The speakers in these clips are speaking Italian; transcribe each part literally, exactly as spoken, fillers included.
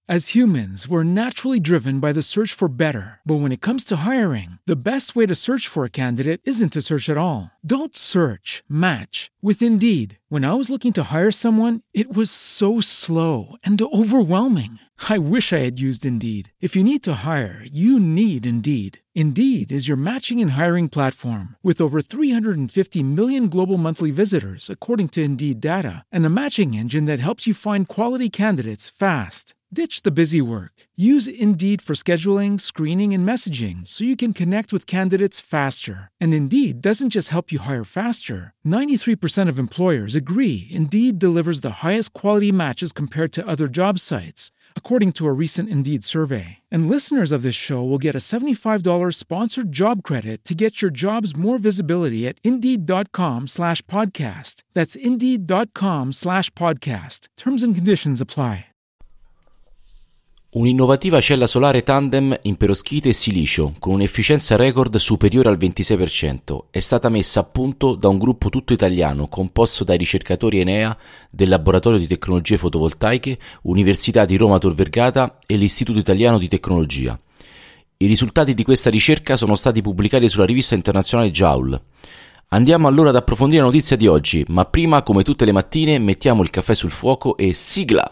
As humans, we're naturally driven by the search for better. But when it comes to hiring, the best way to search for a candidate isn't to search at all. Don't search, match with Indeed. When I was looking to hire someone, it was so slow and overwhelming. I wish I had used Indeed. If you need to hire, you need Indeed. Indeed is your matching and hiring platform with over three hundred fifty million global monthly visitors, according to Indeed data, and a matching engine that helps you find quality candidates fast. Ditch the busy work. Use Indeed for scheduling, screening, and messaging so you can connect with candidates faster. And Indeed doesn't just help you hire faster. ninety-three percent of employers agree Indeed delivers the highest quality matches compared to other job sites, according to a recent Indeed survey. And listeners of this show will get a seventy-five dollars sponsored job credit to get your jobs more visibility at Indeed.com slash podcast. That's Indeed.com slash podcast. Terms and conditions apply. Un'innovativa cella solare tandem in peroschite e silicio con un'efficienza record superiore al ventisei per cento è stata messa a punto da un gruppo tutto italiano composto dai ricercatori Enea del Laboratorio di Tecnologie Fotovoltaiche, Università di Roma Tor Vergata e l'Istituto Italiano di Tecnologia. I risultati di questa ricerca sono stati pubblicati sulla rivista internazionale Joule. Andiamo allora ad approfondire la notizia di oggi, ma prima, come tutte le mattine, mettiamo il caffè sul fuoco e sigla!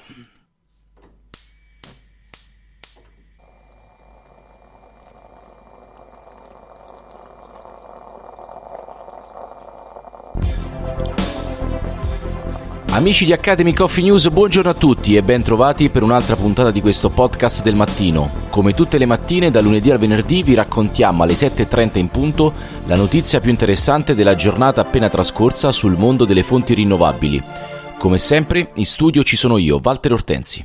Amici di Academy Coffee News, buongiorno a tutti e ben trovati per un'altra puntata di questo podcast del mattino. Come tutte le mattine, da lunedì al venerdì, vi raccontiamo alle sette e trenta in punto la notizia più interessante della giornata appena trascorsa sul mondo delle fonti rinnovabili. Come sempre, in studio ci sono io, Walter Ortensi.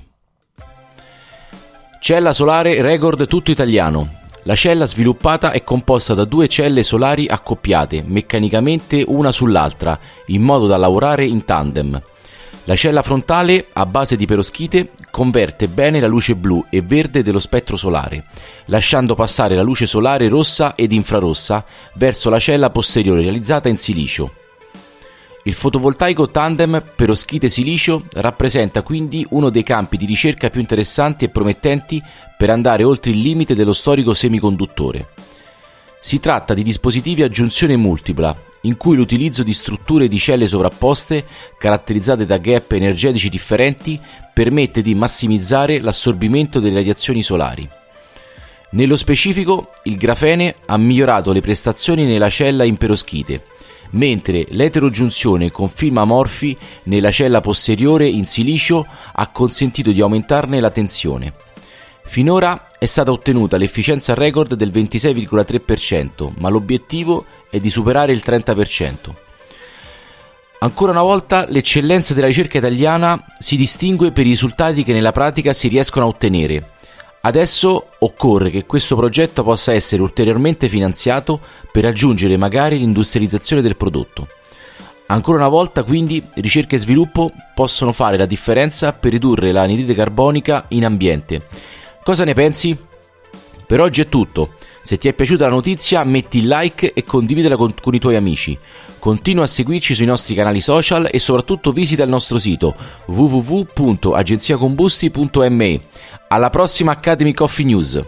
Cella solare record tutto italiano. La cella sviluppata è composta da due celle solari accoppiate, meccanicamente una sull'altra, in modo da lavorare in tandem. La cella frontale, a base di peroschite, converte bene la luce blu e verde dello spettro solare, lasciando passare la luce solare rossa ed infrarossa verso la cella posteriore realizzata in silicio. Il fotovoltaico tandem peroschite-silicio rappresenta quindi uno dei campi di ricerca più interessanti e promettenti per andare oltre il limite dello storico semiconduttore. Si tratta di dispositivi a giunzione multipla, in cui l'utilizzo di strutture di celle sovrapposte, caratterizzate da gap energetici differenti, permette di massimizzare l'assorbimento delle radiazioni solari. Nello specifico, il grafene ha migliorato le prestazioni nella cella in peroschite, mentre l'eterogiunzione con film amorfi nella cella posteriore in silicio ha consentito di aumentarne la tensione. Finora è stata ottenuta l'efficienza record del ventisei virgola tre per cento, ma l'obiettivo è di superare il trenta per cento. Ancora una volta l'eccellenza della ricerca italiana si distingue per i risultati che nella pratica si riescono a ottenere. Adesso occorre che questo progetto possa essere ulteriormente finanziato per raggiungere magari l'industrializzazione del prodotto. Ancora una volta, quindi, ricerca e sviluppo possono fare la differenza per ridurre l'anidride carbonica in ambiente. Cosa ne pensi? Per oggi è tutto. Se ti è piaciuta la notizia, metti il like e condividila con, con i tuoi amici. Continua a seguirci sui nostri canali social e soprattutto visita il nostro sito w w w punto agenziacombusti punto m e. Alla prossima Academy Coffee News!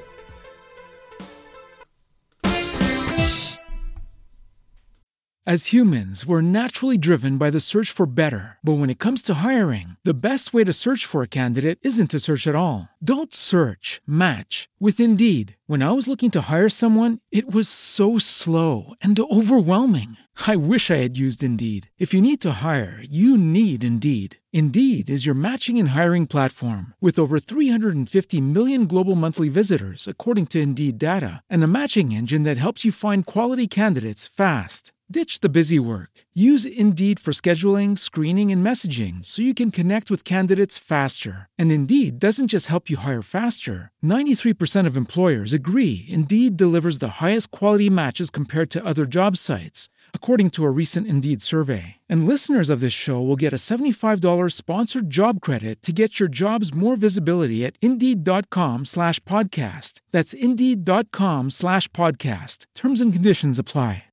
As humans, we're naturally driven by the search for better. But when it comes to hiring, the best way to search for a candidate isn't to search at all. Don't search, match with Indeed. When I was looking to hire someone, it was so slow and overwhelming. I wish I had used Indeed. If you need to hire, you need Indeed. Indeed is your matching and hiring platform with over three hundred fifty million global monthly visitors, according to Indeed data, and a matching engine that helps you find quality candidates fast. Ditch the busy work. Use Indeed for scheduling, screening, and messaging so you can connect with candidates faster. And Indeed doesn't just help you hire faster. ninety-three percent of employers agree Indeed delivers the highest quality matches compared to other job sites, according to a recent Indeed survey. And listeners of this show will get a seventy-five dollars sponsored job credit to get your jobs more visibility at Indeed.com slash podcast. That's Indeed.com slash podcast. Terms and conditions apply.